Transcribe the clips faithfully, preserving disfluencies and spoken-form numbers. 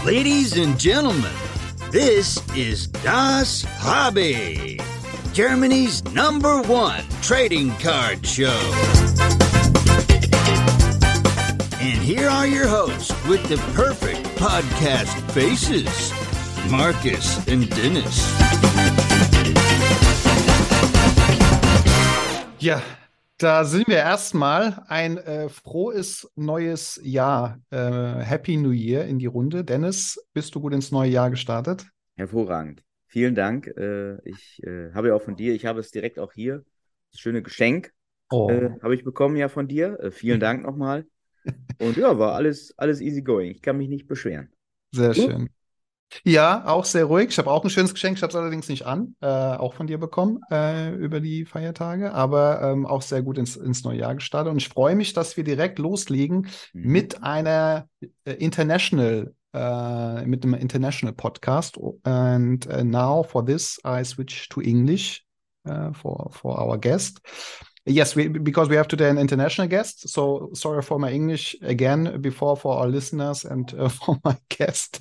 Ladies and gentlemen, this is Das Hobby, Germany's number one trading card show. And here are your hosts with the perfect podcast faces, Marcus and Dennis. Ja, da sind wir erstmal. Ein äh, frohes neues Jahr. Äh, Happy New Year in die Runde. Dennis, bist du gut ins neue Jahr gestartet? Hervorragend. Vielen Dank. Äh, ich äh, habe ja auch von dir, ich habe es direkt auch hier. Das schöne Geschenk Oh. äh, habe ich bekommen ja von dir. Äh, vielen Dank nochmal. Und ja, war alles, alles easy going. Ich kann mich nicht beschweren. Sehr Du? schön. Ja, auch sehr ruhig. Ich habe auch ein schönes Geschenk. Ich habe es allerdings nicht an, äh, auch von dir bekommen äh, über die Feiertage, aber ähm, auch sehr gut ins, ins neue Jahr gestartet. Und ich freue mich, dass wir direkt loslegen Mhm. mit einer äh, International, äh, mit einem International Podcast. And uh, now for this, I switch to English uh, for for our guest. Yes, we, because we have today an international guest. So sorry for my English again before for our listeners and uh, for my guest.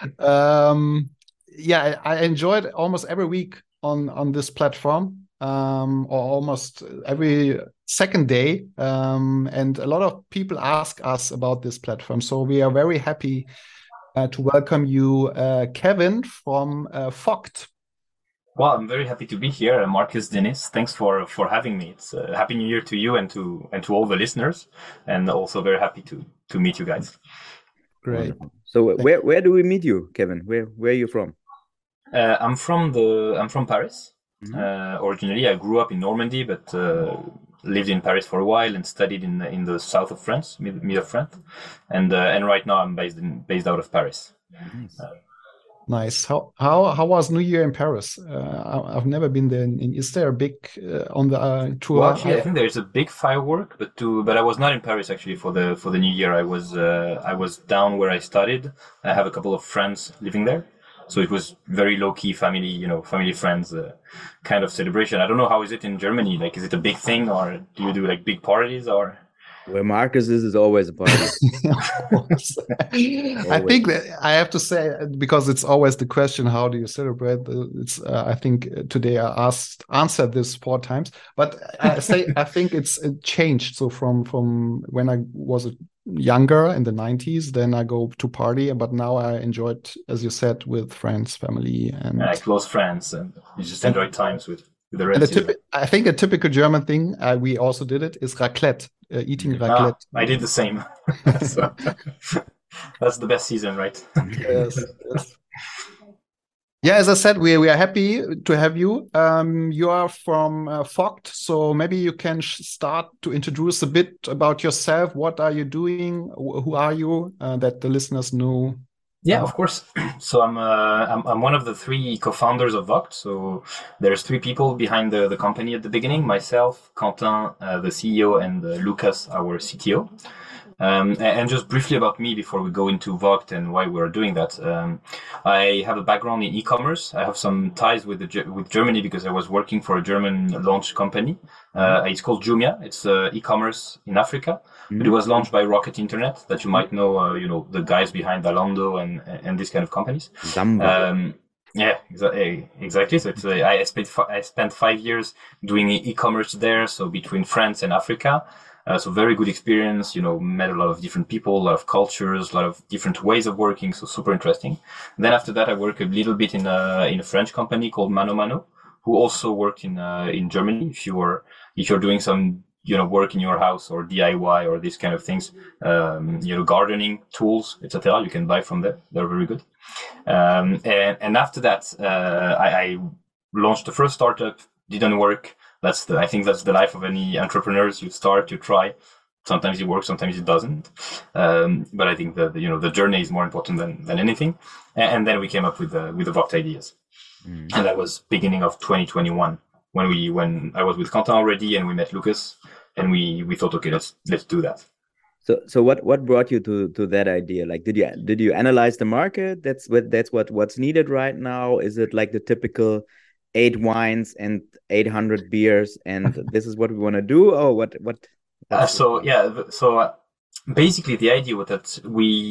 Um, yeah, I, I enjoyed almost every week on on this platform, um, or almost every second day. Um, and a lot of people ask us about this platform. So we are very happy uh, to welcome you, uh, Kevin from uh, Vogt. Well, I'm very happy to be here, uh, Marcus, Dennis. Thanks for for having me. It's uh, Happy New Year to you and to and to all the listeners, and also very happy to to meet you guys. Great. Wonderful. So uh, where where do we meet you, Kevin? Where where are you from? Uh, I'm from the I'm from Paris. Mhm. Uh, originally, I grew up in Normandy, but uh, lived in Paris for a while and studied in the, in the south of France, mid, mid of France, and uh, and right now I'm based in based out of Paris. Nice. Nice. How how how was New Year in Paris? Uh, I, I've never been there. In, is there a big uh, on the uh, tour? Well, actually, I think there's a big firework, but to but I was not in Paris actually for the for the New Year. I was uh, I was down where I studied. I have a couple of friends living there, so it was very low key family, you know, family friends uh, kind of celebration. I don't know how is it in Germany. Like, is it a big thing, or do you do like big parties, or? Where Marcus is is always a party. Of course. I think that I have to say, because it's always the question, how do you celebrate? It's uh, I think today I asked answered this four times, but I say I think it's it changed. So from from when I was younger in the nineties, then I go to party, but now I enjoy it, as you said, with friends, family, and Yeah, close friends, and you just enjoy times with, with the and a rest. typi- I think a typical German thing, uh, we also did it, is raclette, uh, eating Ah, raclette. I did the same. So, that's the best season, right? Yes, yes. Yeah, as I said, we we are happy to have you. Um, you are from uh, Vogt, so maybe you can sh- start to introduce a bit about yourself. What are you doing? Wh- Who are you? Uh, that the listeners know. Yeah, of course. So I'm, uh, I'm I'm one of the three co-founders of Vogt. So there's three people behind the, the company at the beginning: myself, Quentin, uh, the C E O, and uh, Lucas, our C T O. Um, and, and just briefly about me before we go into Vogt and why we're doing that. Um, I have a background in e-commerce. I have some ties with the Ge- with Germany because I was working for a German launch company. Uh, it's called Jumia. It's uh, e-commerce in Africa. But it was launched by Rocket Internet, that you might know, uh, you know, the guys behind Zalando and and these kind of companies. Zamba. Um, yeah, exa- exactly. So it's, uh, I spent fi- I spent five years doing e- e-commerce there. So between France and Africa, uh, so very good experience. You know, met a lot of different people, a lot of cultures, a lot of different ways of working. So super interesting. Then after that, I worked a little bit in a in a French company called Mano Mano, who also worked in uh, in Germany. If you were if you're doing some you know, work in your house or D I Y or these kind of things, um, you know, gardening tools, et cetera. You can buy from there. They're very good. Um, and, and after that, uh, I, I launched the first startup. Didn't work. That's the, I think that's the life of any entrepreneurs. You start, you try. Sometimes it works, sometimes it doesn't. Um, but I think that, you know, the journey is more important than, than anything. And, and then we came up with the, with the Vogt ideas. Mm. And that was beginning of twenty twenty-one. When we when I was with Quentin already and we met Lucas and we, we thought, okay, let's let's do that. So so what what brought you to to that idea? Like, did you did you analyze the market? That's what that's what what's needed right now. Is it like the typical eight wines and eight hundred beers and this is what we want to do? Or what what? Uh, so yeah, so uh, basically the idea was that we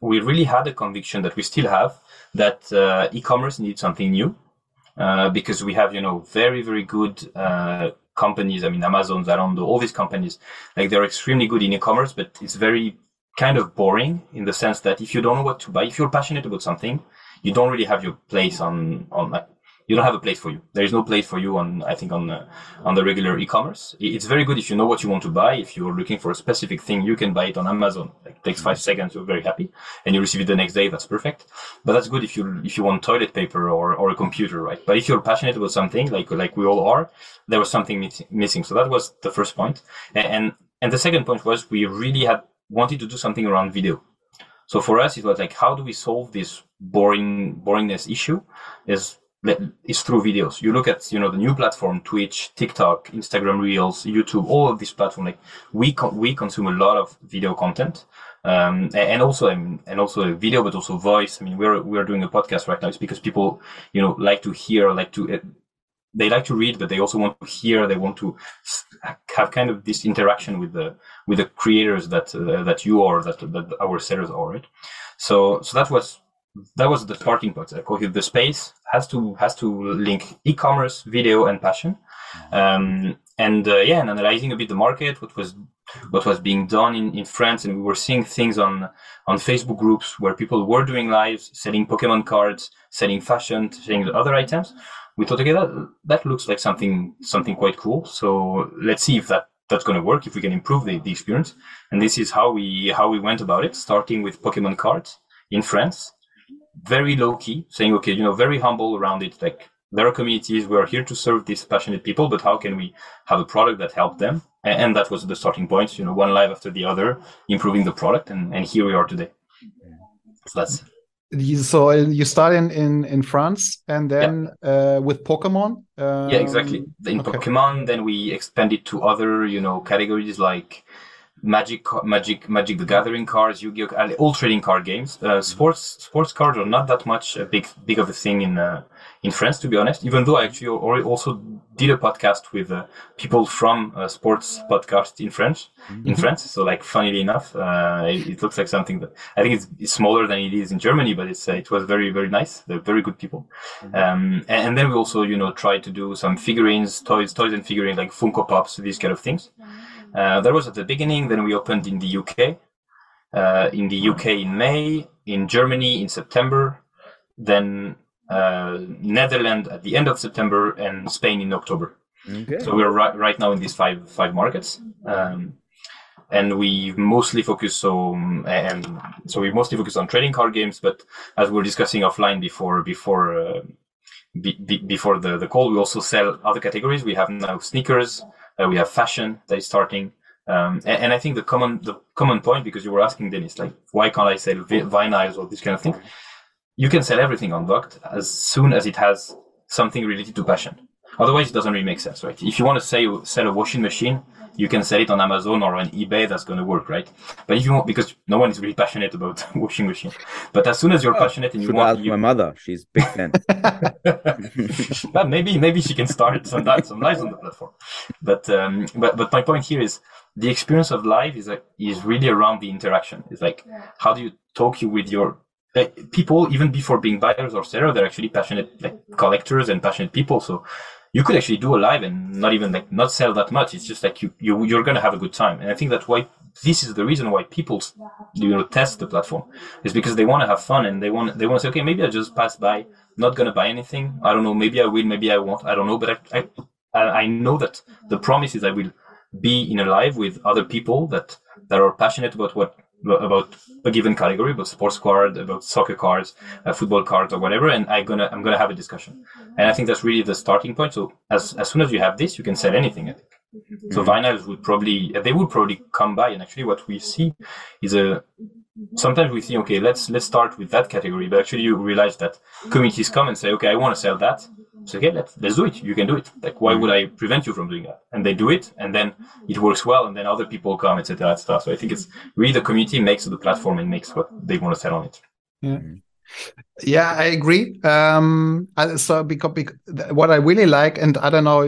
we really had a conviction that we still have that uh, e-commerce needed something new, uh, because we have, you know, very, very good uh, companies. I mean, Amazon, Zalando, all these companies, like they're extremely good in e-commerce, but it's very kind of boring in the sense that if you don't know what to buy, if you're passionate about something, you don't really have your place on, on like, you don't have a place for you. There is no place for you on, I think, on the, on the regular e-commerce. It's very good if you know what you want to buy. If you're looking for a specific thing, you can buy it on Amazon. Like, it takes five seconds. You're very happy and you receive it the next day. That's perfect. But that's good if you, if you want toilet paper or, or a computer, right? But if you're passionate about something, like, like we all are, there was something miss- missing. So that was the first point. And, and, and the second point was we really had wanted to do something around video. So for us, it was like, how do we solve this boring, boringness issue? Is It's through videos. You look at, you know, the new platform, Twitch, TikTok, Instagram Reels, YouTube, all of these platforms. Like we con- we consume a lot of video content, um, and also and also video, but also voice. I mean, we're we're doing a podcast right now. It's because people, you know, like to hear, like to. Uh, they like to read, but they also want to hear. They want to have kind of this interaction with the with the creators that uh, that you are, that that our sellers are, right? So so that was. That was the starting point. Like, okay, the space has to has to link e-commerce, video, and passion, um, and uh, yeah, and analyzing a bit the market, what was what was being done in, in France, and we were seeing things on on Facebook groups where people were doing lives, selling Pokemon cards, selling fashion, selling other items. We thought, okay, that, that looks like something something quite cool. So let's see if that that's going to work, if we can improve the, the experience. And this is how we how we went about it, starting with Pokemon cards in France. Very low key, saying, okay, you know, very humble around it. Like, there are communities, we are here to serve these passionate people, but how can we have a product that helped them? And, and that was the starting point, you know, one live after the other, improving the product. And, and here we are today. So that's. So you start in, in, in France and then yeah. uh, with Pokemon? Um, yeah, exactly. In okay. Pokemon, then we expanded to other, you know, categories like Magic, Magic, Magic the Gathering cards, Yu-Gi-Oh, all trading card games. Uh, sports, sports cards are not that much a big, big of a thing in uh, in France, to be honest. Even though I actually also did a podcast with uh, people from a sports podcast in French, mm-hmm. in France. So, like, funnily enough, uh, it, it looks like something that I think it's, it's smaller than it is in Germany, but it's uh, it was very, very nice. They're very good people. Mm-hmm. Um, and, and then we also, you know, tried to do some figurines, toys, toys and figurines like Funko Pops, these kind of things. Uh, that was at the beginning. Then we opened in the U K, uh, in the U K in May, in Germany in September, then uh, Netherlands at the end of September, and Spain in October. Okay. So we're right, right now in these five five markets, um, and we mostly focus on and so we mostly focus on trading card games. But as we were discussing offline before before uh, be, be, before the, the call, we also sell other categories. We have now sneakers. Uh, we have fashion that is starting, um, and, and I think the common the common point, because you were asking Dennis, like, why can't I sell vi- vinyls or this kind of thing? You can sell everything on Vogt as soon as it has something related to passion. Otherwise, it doesn't really make sense, right? If you want to say sell a washing machine, you can sell it on Amazon or on eBay. That's going to work, right? But if you want, because no one is really passionate about washing machine. But as soon as you're oh, passionate and you want, ask you... my mother, she's a big fan. But maybe maybe she can start some some lives on the platform. But um, but but my point here is the experience of live is like is really around the interaction. It's like, how do you talk you with your like, people even before being buyers or sellers? They're actually passionate like collectors and passionate people. So you could actually do a live and not even like not sell that much. It's just like you, you you're gonna have a good time. And I think that's why this is the reason why people, you know, test the platform, is because they want to have fun and they want they want to say, okay, maybe I just pass by, not gonna buy anything. I don't know, maybe I will, maybe I won't. I don't know, but I I I know that the promise is I will be in a live with other people that that are passionate about what about a given category, about sports card, about soccer cards, uh, football cards, or whatever, and I'm gonna I'm gonna have a discussion. And I think that's really the starting point. So as as soon as you have this, you can sell anything, I think. Mm-hmm. So vinyls would probably they would probably come by, and actually what we see is a sometimes we think, okay, let's let's start with that category, but actually you realize that communities come and say, okay, I want to sell that. So okay, let's let's do it. You can do it. Like, why would I prevent you from doing that? And they do it, and then it works well, and then other people come, et cetera, et cetera. So I think it's really the community makes the platform and makes what they want to sell on it. Yeah, yeah, I agree. Um, so because, because what I really like, and I don't know,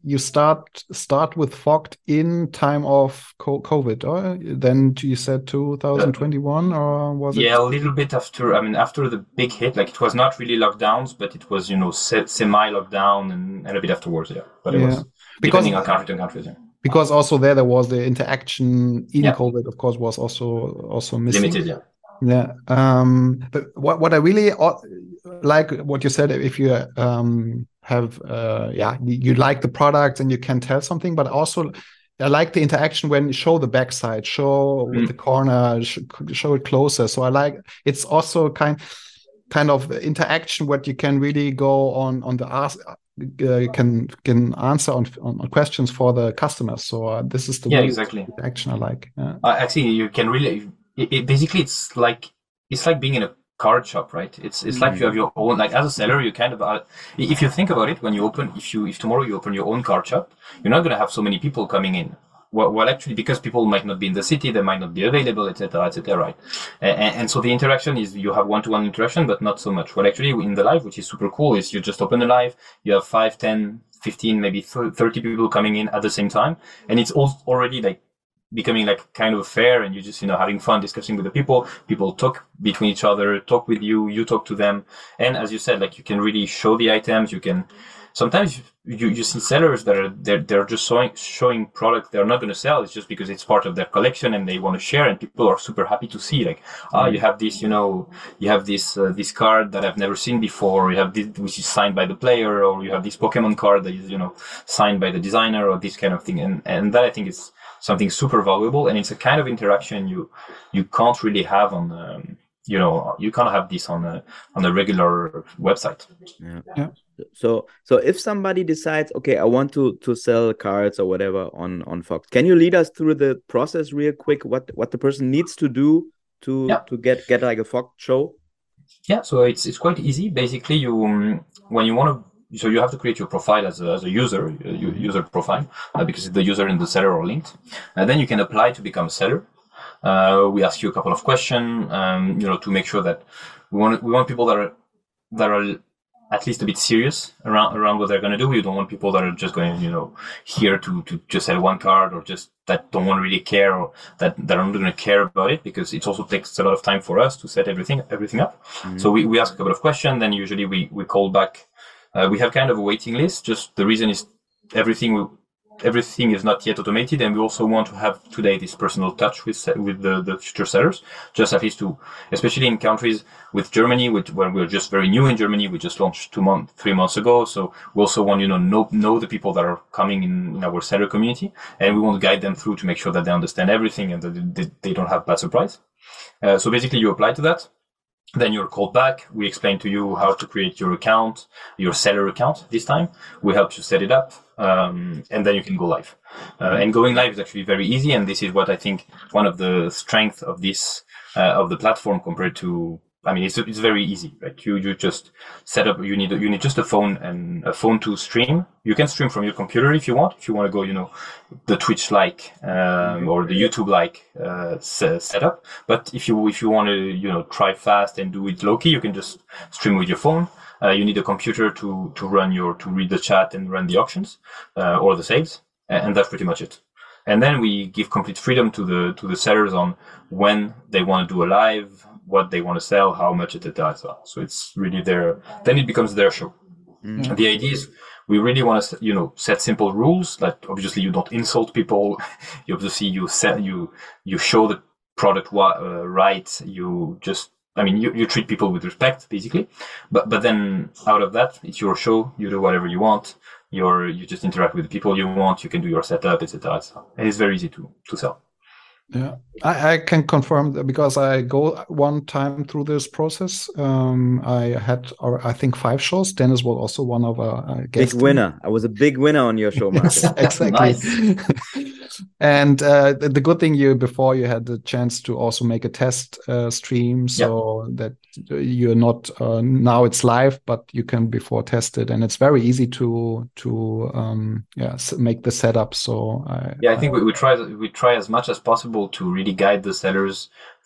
you start start with Foct in time of COVID, or then you said two thousand twenty-one, or was yeah, it? Yeah, a little bit after. I mean, after the big hit, like it was not really lockdowns, but it was you know se- semi lockdown and, and a bit afterwards. Yeah, but it Yeah. was Because- depending on country to country. Yeah. Because also there there was the interaction in Yeah. COVID, of course, was also also missing. Limited. Yeah. Yeah. Um, but what what I really uh, like what you said, if you um, have uh, yeah, you, you like the product and you can tell something, but also I like the interaction when you show the backside, show Mm. the corner, sh- show it closer. So I like it's also kind kind of interaction what you can really go on on the ask. Uh, you can can answer on, on on questions for the customers. So uh, this is the Yeah, really exactly. interaction I like. Yeah. Uh, actually, you can really. It, it, basically, it's like it's like being in a card shop, right? It's it's like you have your own. Like as a seller, you kind of. Uh, if you think about it, when you open, if you if tomorrow you open your own card shop, you're not going to have so many people coming in. Well, well, actually, because people might not be in the city, they might not be available, et cetera, et cetera, right? And, and so the interaction is you have one-to-one interaction, but not so much. Well, actually, in the live, which is super cool, is you just open the live, you have five, ten, fifteen, maybe thirty people coming in at the same time, and it's all already like becoming like kind of fair, and you just you know having fun discussing with the people. People talk between each other, talk with you, you talk to them, and as you said, like you can really show the items. You can. Sometimes you, you see sellers that are they're, they're just showing showing product they're not going to sell. It's just because it's part of their collection and they want to share, and people are super happy to see like, ah, you have this, you know, you have this uh, this card that I've never seen before. Or you have this which is signed by the player, or you have this Pokemon card that is you know signed by the designer, or this kind of thing. And and that I think is something super valuable, and it's a kind of interaction you you can't really have on. Um, you know, you can't have this on a on a regular website. Yeah. Yeah. So, so if somebody decides, okay, I want to to sell cards or whatever on on Foct, can you lead us through the process real quick? What what the person needs to do to Yeah. to get get like a Foct show? Yeah, so it's it's quite easy. Basically, you um, when you want to, so you have to create your profile as a as a user, a user profile, uh, because the user and the seller are linked, and then you can apply to become a seller. Uh, we ask you a couple of questions, um, you know, to make sure that we want we want people that are that are at least a bit serious around around what they're going to do. We don't want people that are just going, you know, here to to just sell one card, or just that don't want to really care, or that that are not going to care about it, because it also takes a lot of time for us to set everything everything up. Mm-hmm. So we, we ask a couple of questions, then usually we we call back. Uh, we have kind of a waiting list. Just the reason is everything we. Everything is not yet automated, and we also want to have today this personal touch with with the, the future sellers, just at least to, especially in countries with Germany, which where we're just very new in Germany. We just launched two months, three months ago, so we also want you know know know the people that are coming in, in our seller community, and we want to guide them through to make sure that they understand everything and that they, they don't have bad surprise. Uh, so basically, you apply to that. Then you're called back. We explain to you how to create your account, your seller account this time. We help you set it up, um, and then you can go live. Uh, and going live is actually very easy, and this is what I think one of the strengths of this uh, of the platform compared to. I mean, it's it's very easy, right? You you just set up. You need you need just a phone and a phone to stream. You can stream from your computer if you want. If you want to go, you know, the Twitch like um, or the YouTube like uh, setup. But if you if you want to, you know, try fast and do it low key, you can just stream with your phone. Uh, you need a computer to to run your to read the chat and run the auctions uh, or the sales, and that's pretty much it. And then we give complete freedom to the to the sellers on when they want to do a live, what they want to sell, how much, et cetera. So it's really their. Then it becomes their show. Mm-hmm. The idea is we really want to, you know, set simple rules. That obviously you don't insult people. You obviously you set you you show the product uh, right. You just. I mean, you, you treat people with respect, basically, but but then out of that, it's your show. You do whatever you want. You're you just interact with the people you want. You can do your setup, et cetera. And it's very easy to to sell. Yeah, I, I can confirm that because I go one time through this process. Um, I had, or I think, five shows. Dennis was also one of our uh, guests. Big winner. I was a big winner on your show, Marcus. Yes, exactly. And uh, the, the good thing you before you had the chance to also make a test uh, stream, so yeah. that you're not uh, now it's live, but you can before test it, and it's very easy to to um, yeah make the setup. So I, yeah, I think we, we try we try as much as possible to really guide the sellers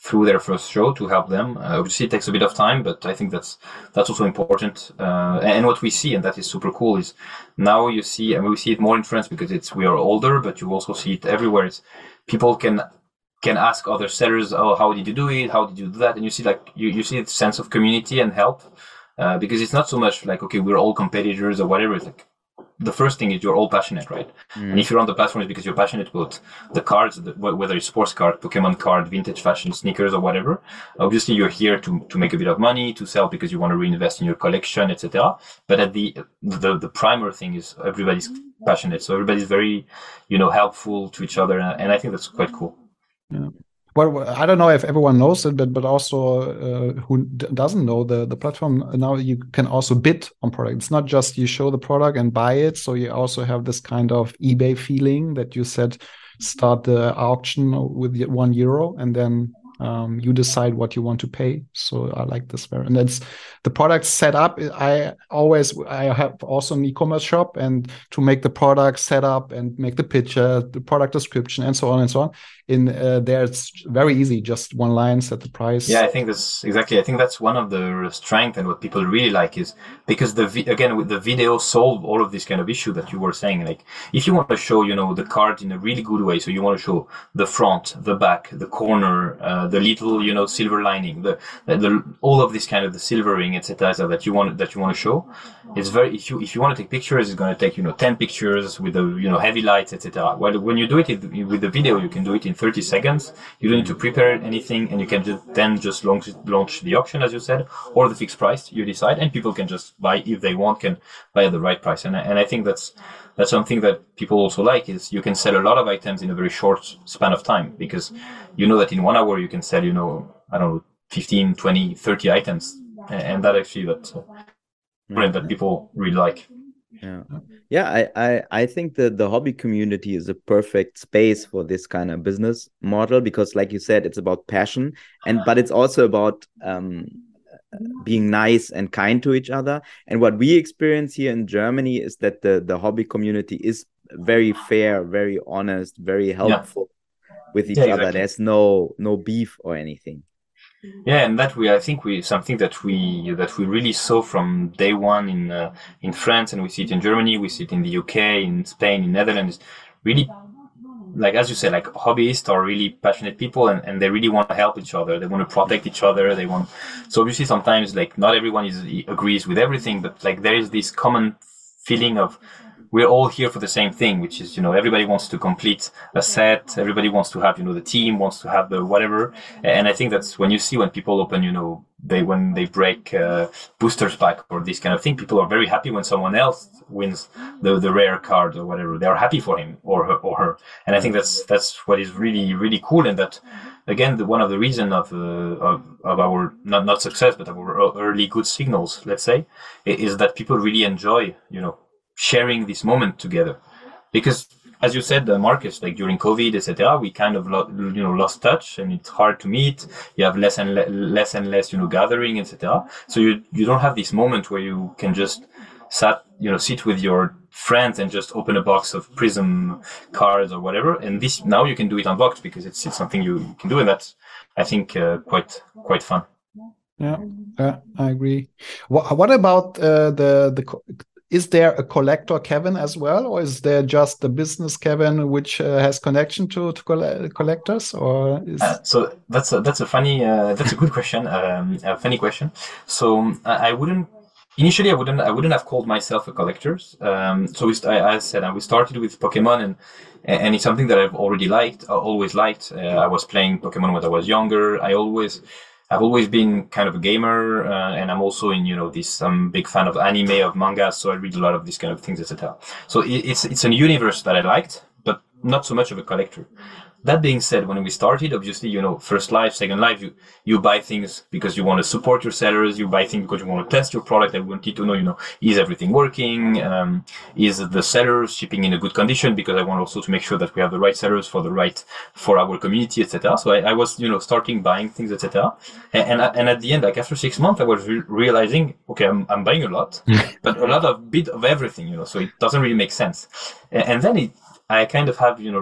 through their first show to help them. Uh, obviously, it takes a bit of time, but I think that's that's also important. Uh, and what we see, and that is super cool, is now you see, I mean, we see it more in France because it's we are older, but you also see it everywhere. It's people can can ask other sellers, oh, how did you do it? How did you do that? And you see like you, you see the sense of community and help, uh, because it's not so much like, okay, we're all competitors or whatever. It's like the first thing is you're all passionate, right? Mm. And if you're on the platform, it's because you're passionate about the cards, the, whether it's sports card, Pokemon card, vintage fashion, sneakers, or whatever. Obviously, you're here to to make a bit of money, to sell because you want to reinvest in your collection, et cetera. But at the the the primary thing is everybody's passionate, so everybody's very, you know, helpful to each other, and I think that's quite cool. Yeah. Well, I don't know if everyone knows it, but but also uh, who d- doesn't know the the platform now, you can also bid on product. It's not just you show the product and buy it. So you also have this kind of eBay feeling that you said start the auction with one euro and then um, you decide what you want to pay. So I like this very, and it's the product set up. I always I have also an e-commerce shop, and to make the product set up and make the picture, the product description, and so on and so on. In uh, there, it's very easy. Just one line, set the price. Yeah, I think that's exactly. I think that's one of the strength and what people really like is because the vi- again with the video solve all of this kind of issue that you were saying. Like if you want to show, you know, the card in a really good way, so you want to show the front, the back, the corner, uh, the little, you know, silver lining, the, the, the all of this kind of the silvering, et cetera, that you want that you want to show. It's very if you if you want to take pictures, it's going to take, you know, ten pictures with the, you know, heavy lights, et cetera. While when you do it with the video, you can do it in thirty seconds. You don't need to prepare anything, and you can just then just launch launch the auction, as you said, or the fixed price you decide, and people can just buy if they want, can buy at the right price. And and I think that's that's something that people also like is you can sell a lot of items in a very short span of time, because you know that in one hour you can sell, you know, I don't know, fifteen, twenty, thirty items, and that actually that's uh, mm-hmm. that people really like. Yeah, yeah. I, I, I think that the hobby community is a perfect space for this kind of business model because, like you said, it's about passion, and but it's also about um, being nice and kind to each other. And what we experience here in Germany is that the the hobby community is very fair, very honest, very helpful yeah. with each yeah, other. Exactly. There's no no beef or anything. Yeah, and that we, I think we, something that we, that we really saw from day one in, uh, in France, and we see it in Germany, we see it in the U K, in Spain, in Netherlands, really, like, as you said, like hobbyists are really passionate people, and, and they really want to help each other. They want to protect each other. They want, so obviously sometimes like not everyone is, agrees with everything, but like there is this common feeling of, we're all here for the same thing, which is, you know, everybody wants to complete a set. Everybody wants to have, you know, the team wants to have the whatever. And I think that's when you see when people open, you know, they, when they break uh, boosters pack or this kind of thing, people are very happy when someone else wins the, the rare card or whatever. They're happy for him or her, or her. And I think that's, that's what is really, really cool. And that, again, the, one of the reasons of, uh, of, of our, not, not success, but our early good signals, let's say, is that people really enjoy, you know, sharing this moment together, because as you said, uh, Marcus, like during COVID, et cetera, we kind of lo- you know lost touch, and it's hard to meet. You have less and le- less and less, you know, gathering, et cetera. So you you don't have this moment where you can just sat you know sit with your friends and just open a box of Prism cards or whatever. And this now you can do it unboxed because it's it's something you, you can do, and that's I think uh, quite quite fun. Yeah, uh, I agree. What what about uh, the the co- Is there a collector Kevin as well, or is there just the business Kevin which uh, has connection to, to coll- collectors? Or is... uh, so that's a, that's a funny uh, that's a good question, um, a funny question. So I, I wouldn't initially I wouldn't I wouldn't have called myself a collector. Um, so we, I, I said uh, we started with Pokemon, and and it's something that I've already liked, uh, always liked. Uh, I was playing Pokemon when I was younger. I always. I've always been kind of a gamer, uh, and I'm also in, you know, this, I'm a big fan of anime, of manga, so I read a lot of these kind of things, et cetera. So it, it's, it's a universe that I liked, but not so much of a collector. That being said, when we started, obviously, you know, first life, second life, you, you buy things because you want to support your sellers, you buy things because you want to test your product. I wanted to know, you know, is everything working? Um, is the sellers shipping in a good condition? Because I want also to make sure that we have the right sellers for the right, for our community, et cetera. So I, I was, you know, starting buying things, et cetera. And, and, and at the end, like after six months, I was re- realizing, okay, I'm, I'm buying a lot, but a lot of bit of everything, you know, so it doesn't really make sense. And, and then it, I kind of have, you know, re-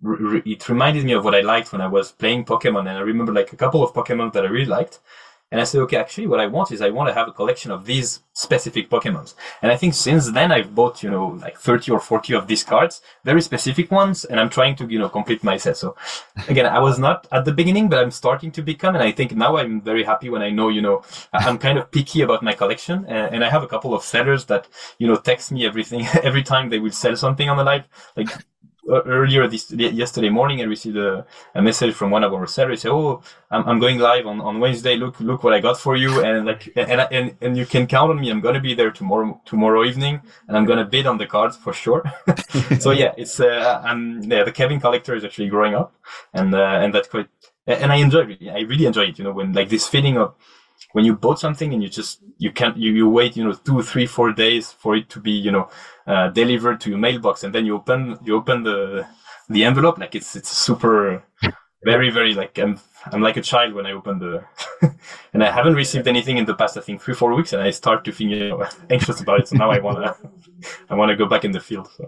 re- it reminded me of what I liked when I was playing Pokemon, and I remember like a couple of Pokemon that I really liked. And I said, okay, actually, what I want is I want to have a collection of these specific Pokemons. And I think since then I've bought, you know, like thirty or forty of these cards, very specific ones, and I'm trying to, you know, complete my set. So again, I was not at the beginning, but I'm starting to become, and I think now I'm very happy when I know, you know, I'm kind of picky about my collection. And, and I have a couple of sellers that, you know, text me everything, every time they will sell something on the live. Like, earlier this yesterday morning, I received a, a message from one of our sellers. Say, "Oh, I'm, I'm going live on, on Wednesday. Look, look what I got for you." And like, and and and you can count on me. I'm gonna be there tomorrow tomorrow evening, and I'm gonna bid on the cards for sure. So yeah, it's uh, I'm yeah, the Kevin collector is actually growing up, and uh, and that's quite. And I enjoy it. I really enjoy it. You know, when like this feeling of when you bought something and you just you can't you, you wait you know two three four days for it to be you know uh, delivered to your mailbox, and then you open you open the the envelope. Like it's it's super very very like I'm I'm like a child when I open the and I haven't received anything in the past I think three four weeks, and I start to feel you know anxious about it. So now I wanna I wanna go back in the field. So.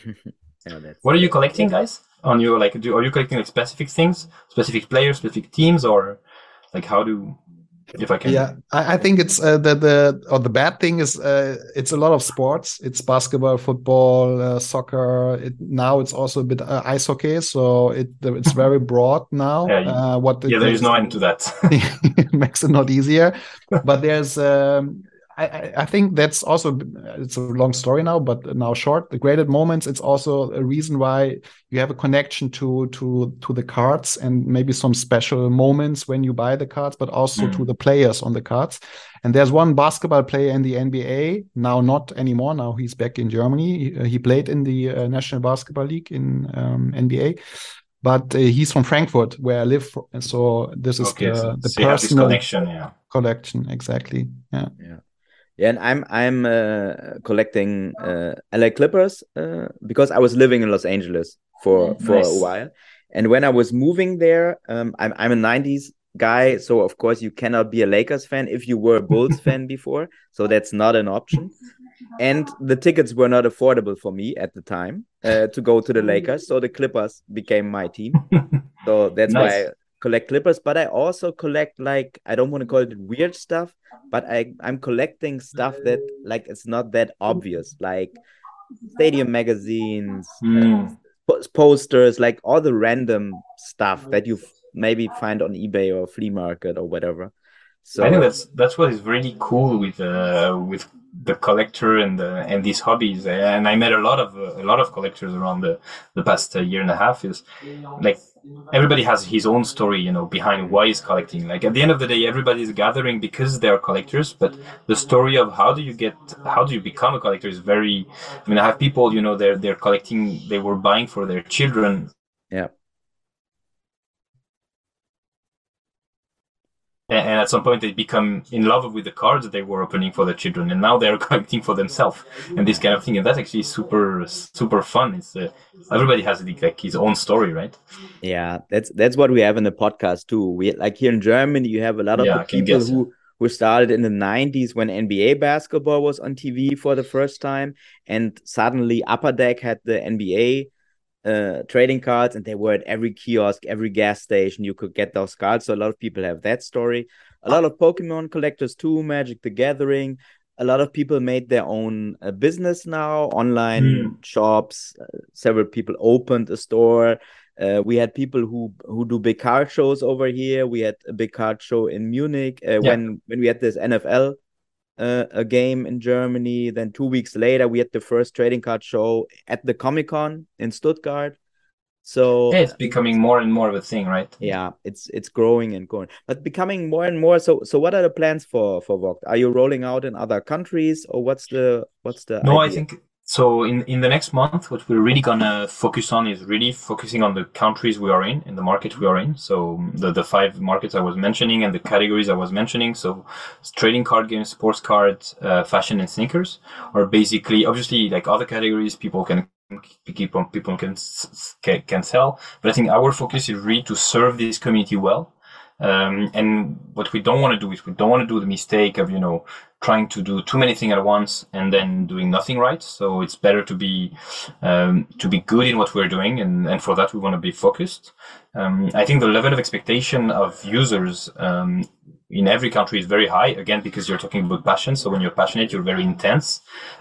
Yeah, that's What are you collecting, guys? On your like do are you collecting like specific things, specific players, specific teams, or like how do if I can. Yeah, I, I think it's uh, the the or the bad thing is uh, it's a lot of sports. It's basketball, football, uh, soccer. It, now it's also a bit uh, ice hockey, so it it's very broad now. Yeah, you, uh, what yeah, there is no end to that. It makes it not easier, but there's. Um, I, I think that's also it's a long story now, but now short. The graded moments. It's also a reason why you have a connection to to to the cards and maybe some special moments when you buy the cards, but also mm. to the players on the cards. And there's one basketball player in the N B A now, not anymore. Now he's back in Germany. He, he played in the uh, National Basketball League in um, N B A. But uh, he's from Frankfurt, where I live. And so this is okay, the, so, the so personal connection. Yeah, collection exactly. Yeah. Yeah. Yeah, and I'm I'm uh, collecting uh, L A Clippers uh, because I was living in Los Angeles for for nice. a while, and when I was moving there, um, I'm I'm a nineties guy, so of course you cannot be a Lakers fan if you were a Bulls fan before, so that's not an option. And the tickets were not affordable for me at the time uh, to go to the Lakers, so the Clippers became my team. So that's nice. why I collect Clippers, but I also collect, like, I don't want to call it weird stuff, but I, I'm collecting stuff that, like, it's not that obvious, like stadium magazines, mm. uh, posters, like all the random stuff that you maybe find on eBay or flea market or whatever. So I think that's that's what is really cool with uh, with the collector and the, and these hobbies. And I met a lot of uh, a lot of collectors around the the past uh, year and a half. Is like everybody has his own story, you know, behind why he's collecting. Like at the end of the day, everybody's gathering because they are collectors. But the story of how do you get, how do you become a collector is very. I mean, I have people, you know, they're they're collecting. They were buying for their children. Yeah. And at some point, they become in love with the cards that they were opening for their children, and now they're collecting for themselves, and this kind of thing. And that's actually super, super fun. It's uh, everybody has like his own story, right? Yeah, that's that's what we have in the podcast too. We like here in Germany, you have a lot of yeah, people who who started in the nineties when N B A basketball was on T V for the first time, and suddenly Upper Deck had the N B A. Uh, trading cards, and they were at every kiosk, every gas station. You could get those cards. So a lot of people have that story. A lot of Pokemon collectors too, Magic the Gathering. A lot of people made their own uh, business now, online mm. shops. Uh, several people opened a store. Uh, we had people who who do big card shows over here. We had a big card show in Munich uh, yeah. when when we had this N F L Uh, a game in Germany. Then two weeks later, we had the first trading card show at the Comic-Con in Stuttgart. So yeah, it's becoming more and more of a thing, right? Yeah, it's it's growing and growing, but becoming more and more. So so what are the plans for for Vogt? Are you rolling out in other countries, or what's the what's the no? idea? I think so. In in the next month, what we're really gonna focus on is really focusing on the countries we are in, in the market we are in. So the the five markets I was mentioning and the categories I was mentioning. So trading card games, sports cards, uh, fashion, and sneakers are basically obviously like other categories people can keep on people can can sell. But I think our focus is really to serve this community well. Um, and what we don't want to do is we don't want to do the mistake of, you know, trying to do too many things at once and then doing nothing right. So it's better to be, um, to be good in what we're doing. And, and for that, we want to be focused. Um, I think the level of expectation of users, um, in every country is very high, again, because you're talking about passion. So when you're passionate, you're very intense.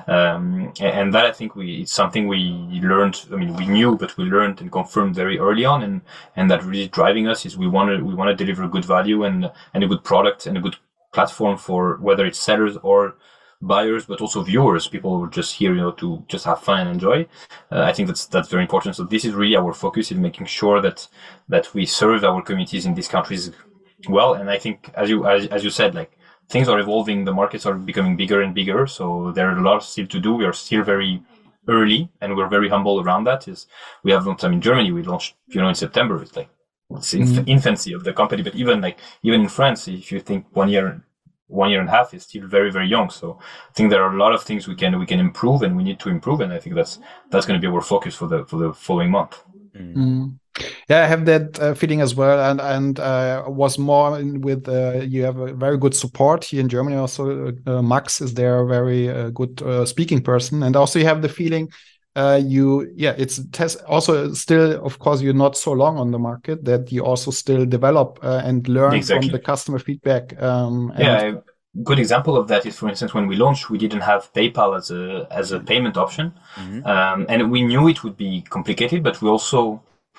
Um, and that, I think we, it's something we learned. I mean, we knew, but we learned and confirmed very early on. And, and that really driving us is we want to, we want to deliver good value and, and a good product and a good platform for whether it's sellers or buyers, but also viewers, people who are just here, you know, to just have fun and enjoy. Uh, I think that's, that's very important. So this is really our focus in making sure that, that we serve our communities in these countries well. And I think, as you as, as you said, like things are evolving, the markets are becoming bigger and bigger. So there are a lot still to do. We are still very early, and we're very humble around that. Is we have, I mean, Germany, we launched, you know, in September. It's like it's in mm-hmm. infancy of the company. But even like even in France, if you think one year, one year and a half is still very very young. So I think there are a lot of things we can we can improve, and we need to improve. And I think that's that's going to be our focus for the for the following month. Mm-hmm. Yeah, I have that uh, feeling as well, and and uh, was more in with uh, you have a very good support here in Germany. Also, uh, Max is there, a very uh, good uh, speaking person, and also you have the feeling uh, you yeah it's test also still, of course, you're not so long on the market that you also still develop uh, and learn exactly. from the customer feedback. Um, and yeah. I- Good example of that is, for instance, when we launched, we didn't have PayPal as a as a payment option, mm-hmm. um, and we knew it would be complicated. But we also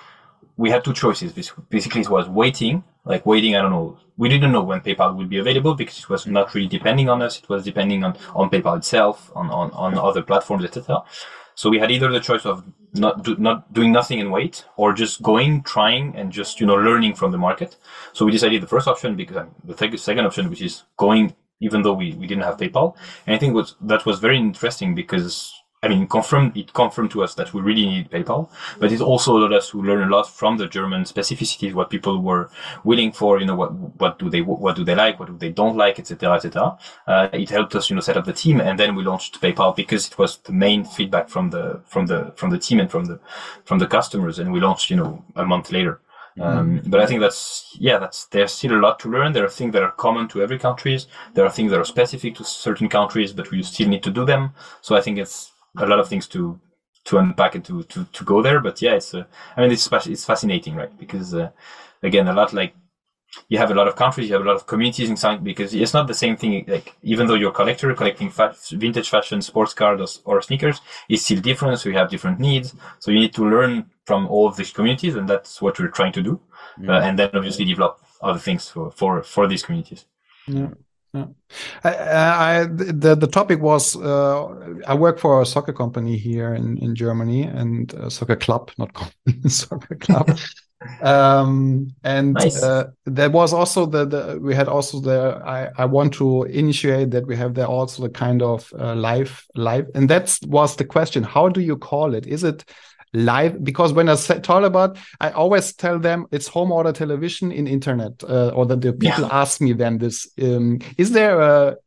we had two choices. Basically, it was waiting, like waiting. I don't know. We didn't know when PayPal would be available because it was not really depending on us. It was depending on, on PayPal itself, on, on, on other platforms, et cetera. So we had either the choice of not do, not doing nothing and wait, or just going, trying, and just, you know, learning from the market. So we decided the first option, because the th- second option, which is going, even though we, we didn't have PayPal. And I think was, that was very interesting because, I mean, confirmed, it confirmed to us that we really need PayPal, but it also allowed us to learn a lot from the German specificities, what people were willing for, you know, what, what do they, what do they like, what do they don't like, et cetera, et cetera. Uh, it helped us, you know, set up the team, and then we launched PayPal because it was the main feedback from the, from the, from the team and from the, from the customers. And we launched, you know, a month later. Um, but I think that's, yeah, that's, there's still a lot to learn. There are things that are common to every countries. There are things that are specific to certain countries, but we still need to do them. So I think it's a lot of things to, to unpack and to, to, to go there. But yeah, it's, uh, I mean, it's, it's fascinating, right? Because, uh, again, a lot like, you have a lot of countries, you have a lot of communities inside, because it's not the same thing. Like, even though you're a collector collecting fa- vintage fashion, sports cars or, or sneakers, it's still different. So you have different needs. So you need to learn from all of these communities, and that's what we're trying to do. Mm. Uh, and then obviously develop other things for, for, for these communities. Yeah. Yeah. I, I, the the topic was uh, I work for a soccer company here in, in Germany, and a soccer club, not company, soccer club. um, and nice. uh, there was also the, the we had also the I, I want to initiate that we have there also the kind of uh, live live, and that was the question: how do you call it? Is it live? Because when I talk about, I always tell them it's home order television in internet, uh, or that the people yeah. ask me then this. Um, is there a,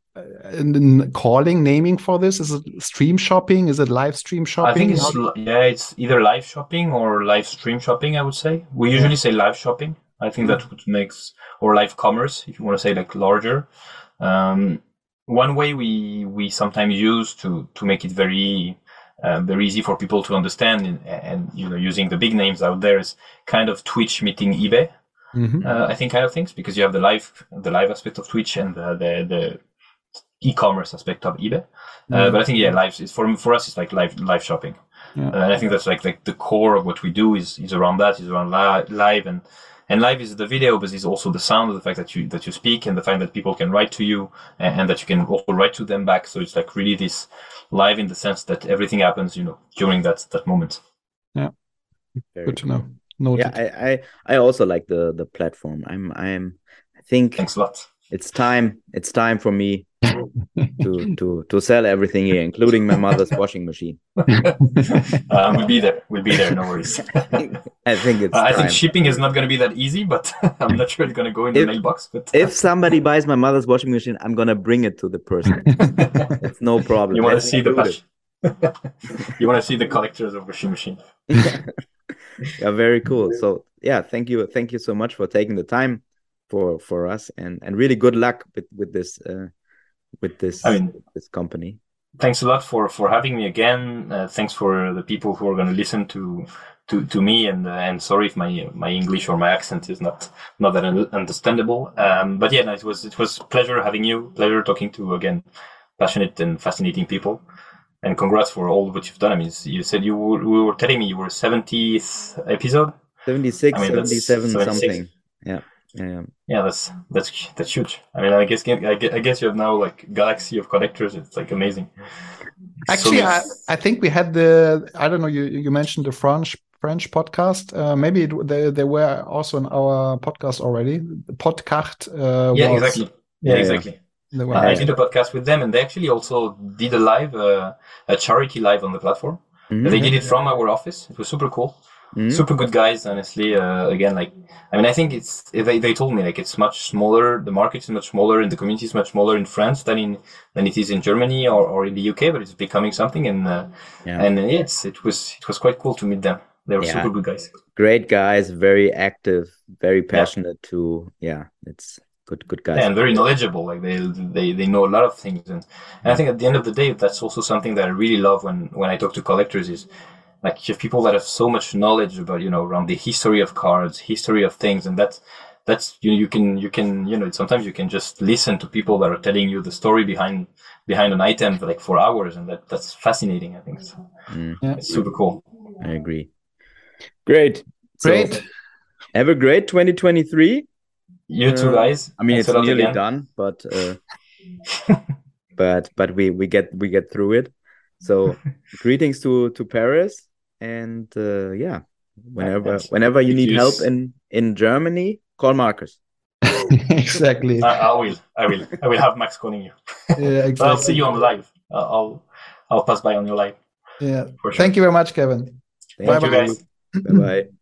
a calling, naming for this? Is it stream shopping? Is it live stream shopping? I think it's, do- yeah, it's either live shopping or live stream shopping, I would say. We usually say live shopping. I think mm-hmm. that makes, or live commerce, if you want to say like larger. Um, one way we, we sometimes use to, to make it very, Um, very easy for people to understand, and, and you know, using the big names out there is kind of Twitch meeting eBay. Mm-hmm. Uh, I think kind of things, because you have the live the live aspect of Twitch and the the, the e-commerce aspect of eBay. Mm-hmm. Uh, but I think yeah, live is for for us it's like live live shopping, yeah. uh, and I think that's like like the core of what we do is is around that, is around li- live and. And live is the video, but it's also the sound of the fact that you that you speak, and the fact that people can write to you, and, and that you can also write to them back. So it's like really this live in the sense that everything happens, you know, during that that moment. Yeah, Very good to cool. know. Noted. Yeah, I, I I also like the the platform. I'm I'm I think thanks a lot. It's time. It's time for me to to to sell everything here, including my mother's washing machine. uh, we'll be there. We'll be there. No worries. I think it's. Uh, I time. think shipping is not going to be that easy, but I'm not sure it's going to go in the if, mailbox. But if somebody buys my mother's washing machine, I'm going to bring it to the person. It's no problem. You want to see the passion. You want to see the collectors of washing machine. Yeah, very cool. So yeah, thank you, thank you so much for taking the time. for for us, and and really good luck with with this uh, with this I mean, this company. Thanks a lot for for having me again. Uh, thanks for the people who are going to listen to to to me, and uh, and sorry if my my English or my accent is not not that understandable. Um, but yeah, no, it was it was pleasure having you. Pleasure talking to again passionate and fascinating people. And congrats for all what you've done. I mean, you said you were, we were telling me you were seventieth episode. seventy-six, I mean, seventy-seven, seventy-six. something. Yeah. Yeah. Yeah, that's that's that's huge. I mean, I guess I guess, I guess you have now like galaxy of connectors. It's like amazing. Actually, So- I, I think we had the, I don't know, you, you mentioned the French French podcast. Uh, maybe it, they, they were also on our podcast already. The podcast. Uh, yeah, was, exactly. Yeah, Yeah, exactly. they were- I did a podcast with them, and they actually also did a live, uh, a charity live on the platform. Mhm. They did it from our office. It was super cool. Mhm. Super good guys, honestly. Uh, again, like, I mean, I think it's, they, they told me like it's much smaller. The market is much smaller and the community is much smaller in France than in, than it is in Germany or, or in the U K, but it's becoming something. And, uh, Yeah. and it's, it was, it was quite cool to meet them. They were Yeah. super good guys. Great guys, very active, very passionate too. Yeah, it's good, good guys. Yeah, and very knowledgeable. Like they, they, they know a lot of things. And, and I think at the end of the day, that's also something that I really love when, when I talk to collectors is, like you have people that have so much knowledge about, you know, around the history of cards, history of things. And that's, that's, you, you can, you can, you know, sometimes you can just listen to people that are telling you the story behind, behind an item for like for hours. And that, that's fascinating. I think it's, Mm, Yeah. it's super cool. I agree. Great. So, Great. have a great twenty twenty-three. You two Uh, guys. I mean, thanks it's a lot nearly again. done, but uh, but but we we get we get through it. So greetings to to Paris, and uh, yeah, whenever thanks. whenever you If need you help s- in in Germany, call Marcus. Exactly. I, I will, I will, I will have Max calling you. Yeah, But I'll see exactly. you on live. I'll, I'll, I'll pass by on your live Yeah. for sure. Thank you very much, Kevin. Thank Thank you Bye-bye. guys. Bye bye.